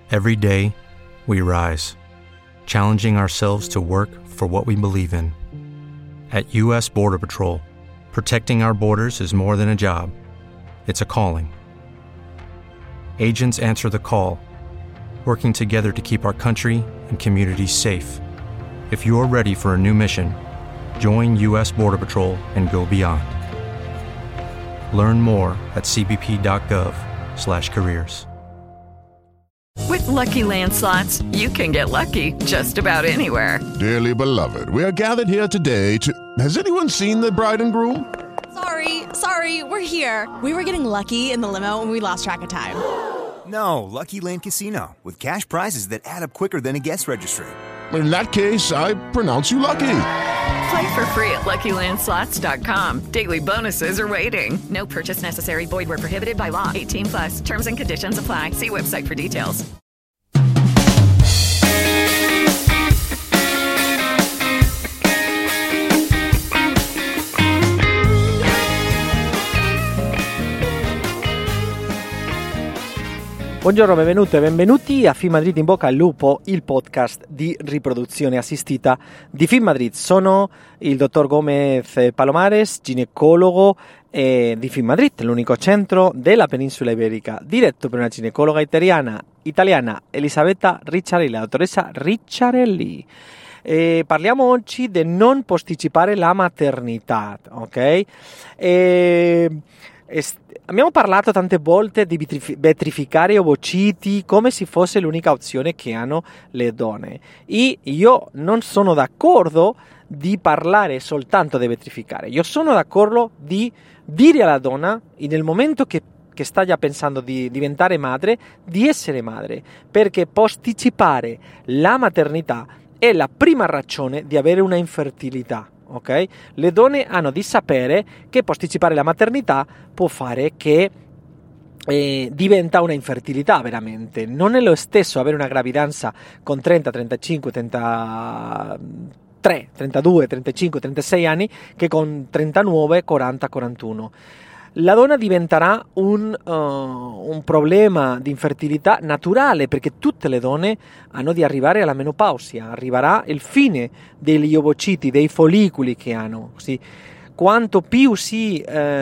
Every day, we rise, challenging ourselves to work for what we believe in. At U.S. Border Patrol, protecting our borders is more than a job. It's a calling. Agents answer the call, working together to keep our country and communities safe. If you're ready for a new mission, join U.S. Border Patrol and go beyond. Learn more at cbp.gov/careers. With Lucky Land Slots, you can get lucky just about anywhere. Dearly beloved, we are gathered here today to... Has anyone seen the bride and groom? Sorry, we're here. We were getting lucky in the limo and we lost track of time. No, Lucky Land Casino, with cash prizes that add up quicker than a guest registry. In that case, I pronounce you lucky. Play for free at LuckyLandSlots.com. Daily bonuses are waiting. No purchase necessary. Void where prohibited by law. 18+. Terms and conditions apply. See website for details. Buongiorno, benvenute e benvenuti a Film Madrid in bocca al lupo, il podcast di riproduzione assistita di Film Madrid. Sono il dottor Gomez Palomares, ginecologo di Film Madrid, l'unico centro della penisola iberica, diretto per una ginecologa italiana Elisabetta Ricciarelli, la dottoressa Ricciarelli. Parliamo oggi di non posticipare la maternità, ok? Abbiamo parlato tante volte di vetrificare gli ovociti come se fosse l'unica opzione che hanno le donne, e io non sono d'accordo di parlare soltanto di vetrificare. Io sono d'accordo di dire alla donna, nel momento che sta già pensando di diventare madre, di essere madre, perché posticipare la maternità è la prima ragione di avere una infertilità. Okay? Le donne hanno di sapere che posticipare la maternità può fare che diventa una infertilità veramente. Non è lo stesso avere una gravidanza con 30, 35, 33, 32, 35, 36 anni che con 39, 40, 41. La donna diventerà un problema di infertilità naturale, perché tutte le donne hanno di arrivare alla menopausia, arriverà il fine degli ovociti, dei follicoli che hanno. Così, quanto più si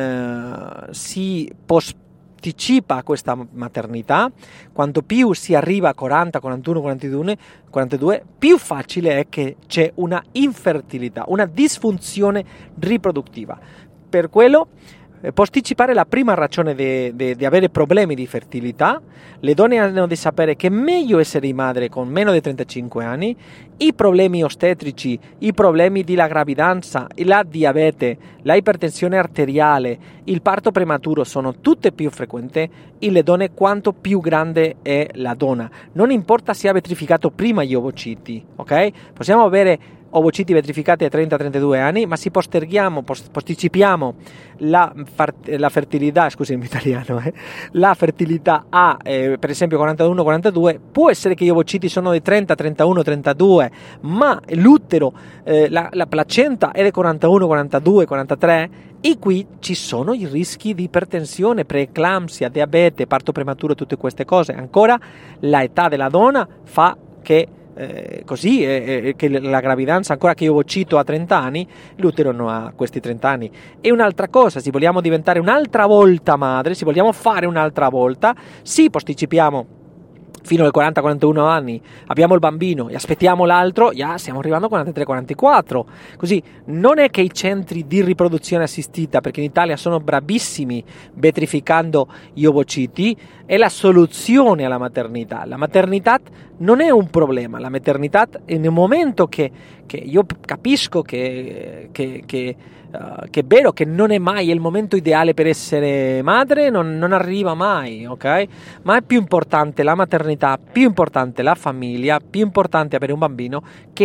posticipa questa maternità, quanto più si arriva a 40, 41, 42, più facile è che c'è una infertilità, una disfunzione riproduttiva. Per quello posticipare la prima ragione di avere problemi di fertilità. Le donne hanno di sapere che è meglio essere madre con meno di 35 anni. I problemi ostetrici, i problemi della gravidanza, la diabete, la ipertensione arteriale, il parto prematuro sono tutte più frequenti in le donne quanto più grande è la donna. Non importa se ha vetrificato prima gli ovociti, ok? Possiamo avere ovociti vetrificati a 30-32 anni, ma se posticipiamo la fertilità, scusami in italiano, la fertilità a per esempio 41-42, può essere che gli ovociti sono di 30, 31, 32, ma l'utero, la placenta è di 41, 42, 43, e qui ci sono i rischi di ipertensione, preeclampsia, diabete, parto prematuro, tutte queste cose. Ancora l'età della donna fa che che la gravidanza, ancora che io ovocito a 30 anni, l'utero non ha questi 30 anni. E un'altra cosa, se vogliamo diventare un'altra volta madre, se vogliamo fare un'altra volta, sì, posticipiamo fino ai 40-41 anni, abbiamo il bambino e aspettiamo l'altro, stiamo arrivando a 43-44. Così non è che i centri di riproduzione assistita, perché in Italia sono bravissimi vetrificando gli ovociti, è la soluzione alla maternità. La maternità non è un problema, la maternità è nel momento che io capisco che è vero che non è mai il momento ideale per essere madre, non arriva mai, ok? Ma è più importante la maternità, più importante la famiglia, più importante avere un bambino che no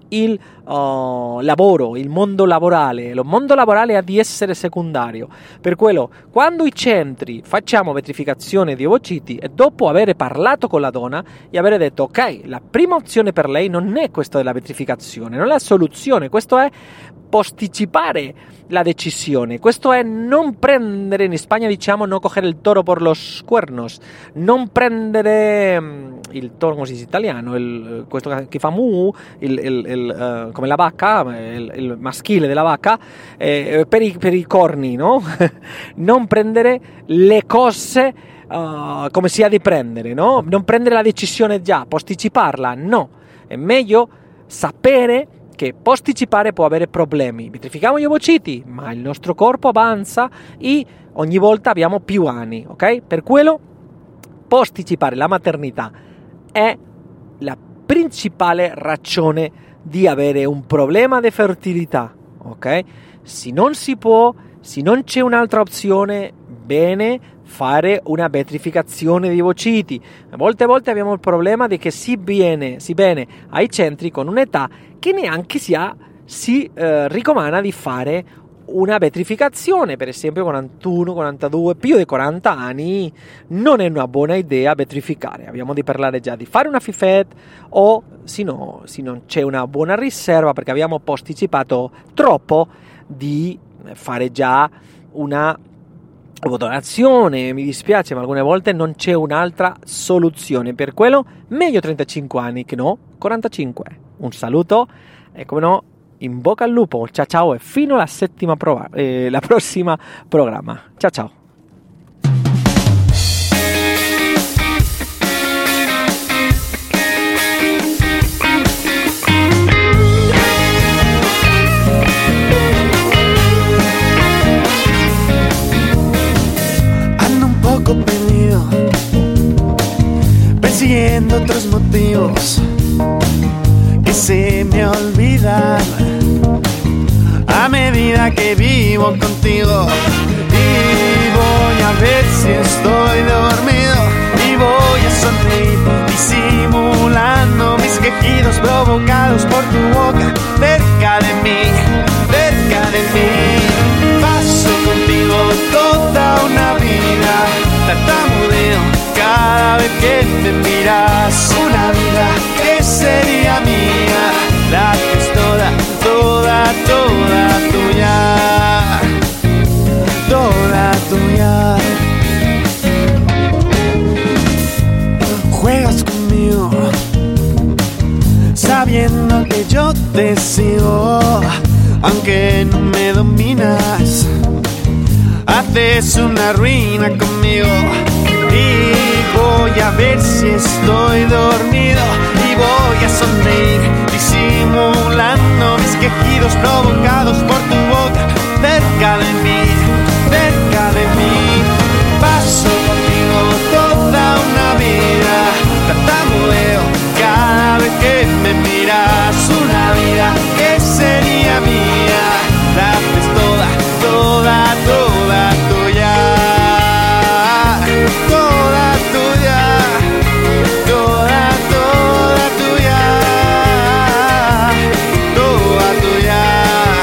il lavoro, il mondo lavorale. Lo mondo lavorale ha di essere secondario. Per quello, quando i centri facciamo vetrificazione di ovociti e dopo aver parlato con la donna e aver detto ok, la prima opzione per lei non è questa della vetrificazione, non è la soluzione, questo è posticipare la decisione, questo è non prendere, in Spagna diciamo no coger il toro por los cuernos, non prendere il toro, come si dice in italiano, questo che fa mu, come la vacca, il maschile della vacca, per i corni, no? Non prendere le cose come si ha di prendere, no? Non prendere la decisione già, posticiparla, no. È meglio sapere che posticipare può avere problemi. Vetrifichiamo gli ovociti, ma il nostro corpo avanza e ogni volta abbiamo più anni, ok? Per quello posticipare la maternità è la principale ragione di avere un problema di fertilità, ok? Se non si può, se non c'è un'altra opzione, bene fare una vetrificazione di ovociti. Molte volte abbiamo il problema di che si viene ai centri con un'età che neanche si raccomanda di fare una vetrificazione, per esempio 41, 42, più di 40 anni non è una buona idea vetrificare. Abbiamo di parlare già di fare una FIFET o se non c'è una buona riserva perché abbiamo posticipato troppo di fare già una donazione. Mi dispiace, ma alcune volte non c'è un'altra soluzione. Per quello meglio 35 anni che no 45. Un saluto e come no in bocca al lupo, ciao ciao e fino alla la prossima programma. Ciao ciao. Ando un poco perdido, persiguiendo otros motivos que se me olvidan a medida que vivo contigo. Y voy a ver si estoy dormido y voy a sonreír disimulando mis quejidos provocados por tu boca cerca de mí, cerca de mí. Paso contigo toda una vida, tartamudeo cada vez que me miras. Una vida que sería mía, la que es toda, toda, toda tuya, toda tuya. Juegas conmigo, sabiendo que yo te sigo, aunque no me dominas. Haces una ruina conmigo y voy a ver si estoy dormido y voy a sonreír disimulando mis quejidos provocados por tu boca cerca de mí, cerca de mí. Paso contigo toda una vida, tartamudeo cada vez que me miras. Una vida que sería mía, la haces toda, toda, toda tuya, toda tuya, toda, toda tuya, toda tuya.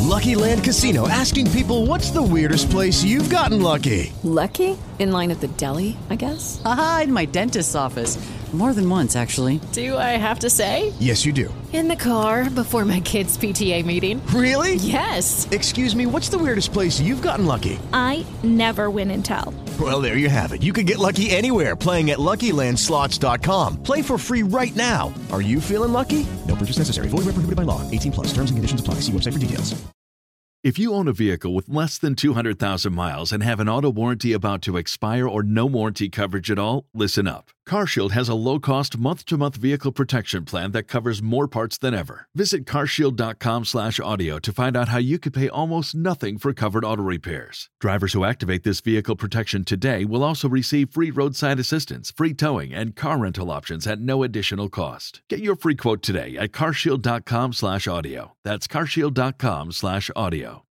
Lucky Land Casino, asking people, what's the weirdest place you've gotten lucky? Lucky? In line at the deli, I guess? Aha, in my dentist's office. More than once, actually. Do I have to say? Yes, you do. In the car before my kids' PTA meeting. Really? Yes. Excuse me, what's the weirdest place you've gotten lucky? I never win and tell. Well, there you have it. You can get lucky anywhere, playing at LuckyLandSlots.com. Play for free right now. Are you feeling lucky? No purchase necessary. Void where prohibited by law. 18 plus. Terms and conditions apply. See website for details. If you own a vehicle with less than 200,000 miles and have an auto warranty about to expire or no warranty coverage at all, listen up. CarShield has a low-cost month-to-month vehicle protection plan that covers more parts than ever. Visit carshield.com/audio to find out how you could pay almost nothing for covered auto repairs. Drivers who activate this vehicle protection today will also receive free roadside assistance, free towing, and car rental options at no additional cost. Get your free quote today at carshield.com/audio. That's carshield.com/audio.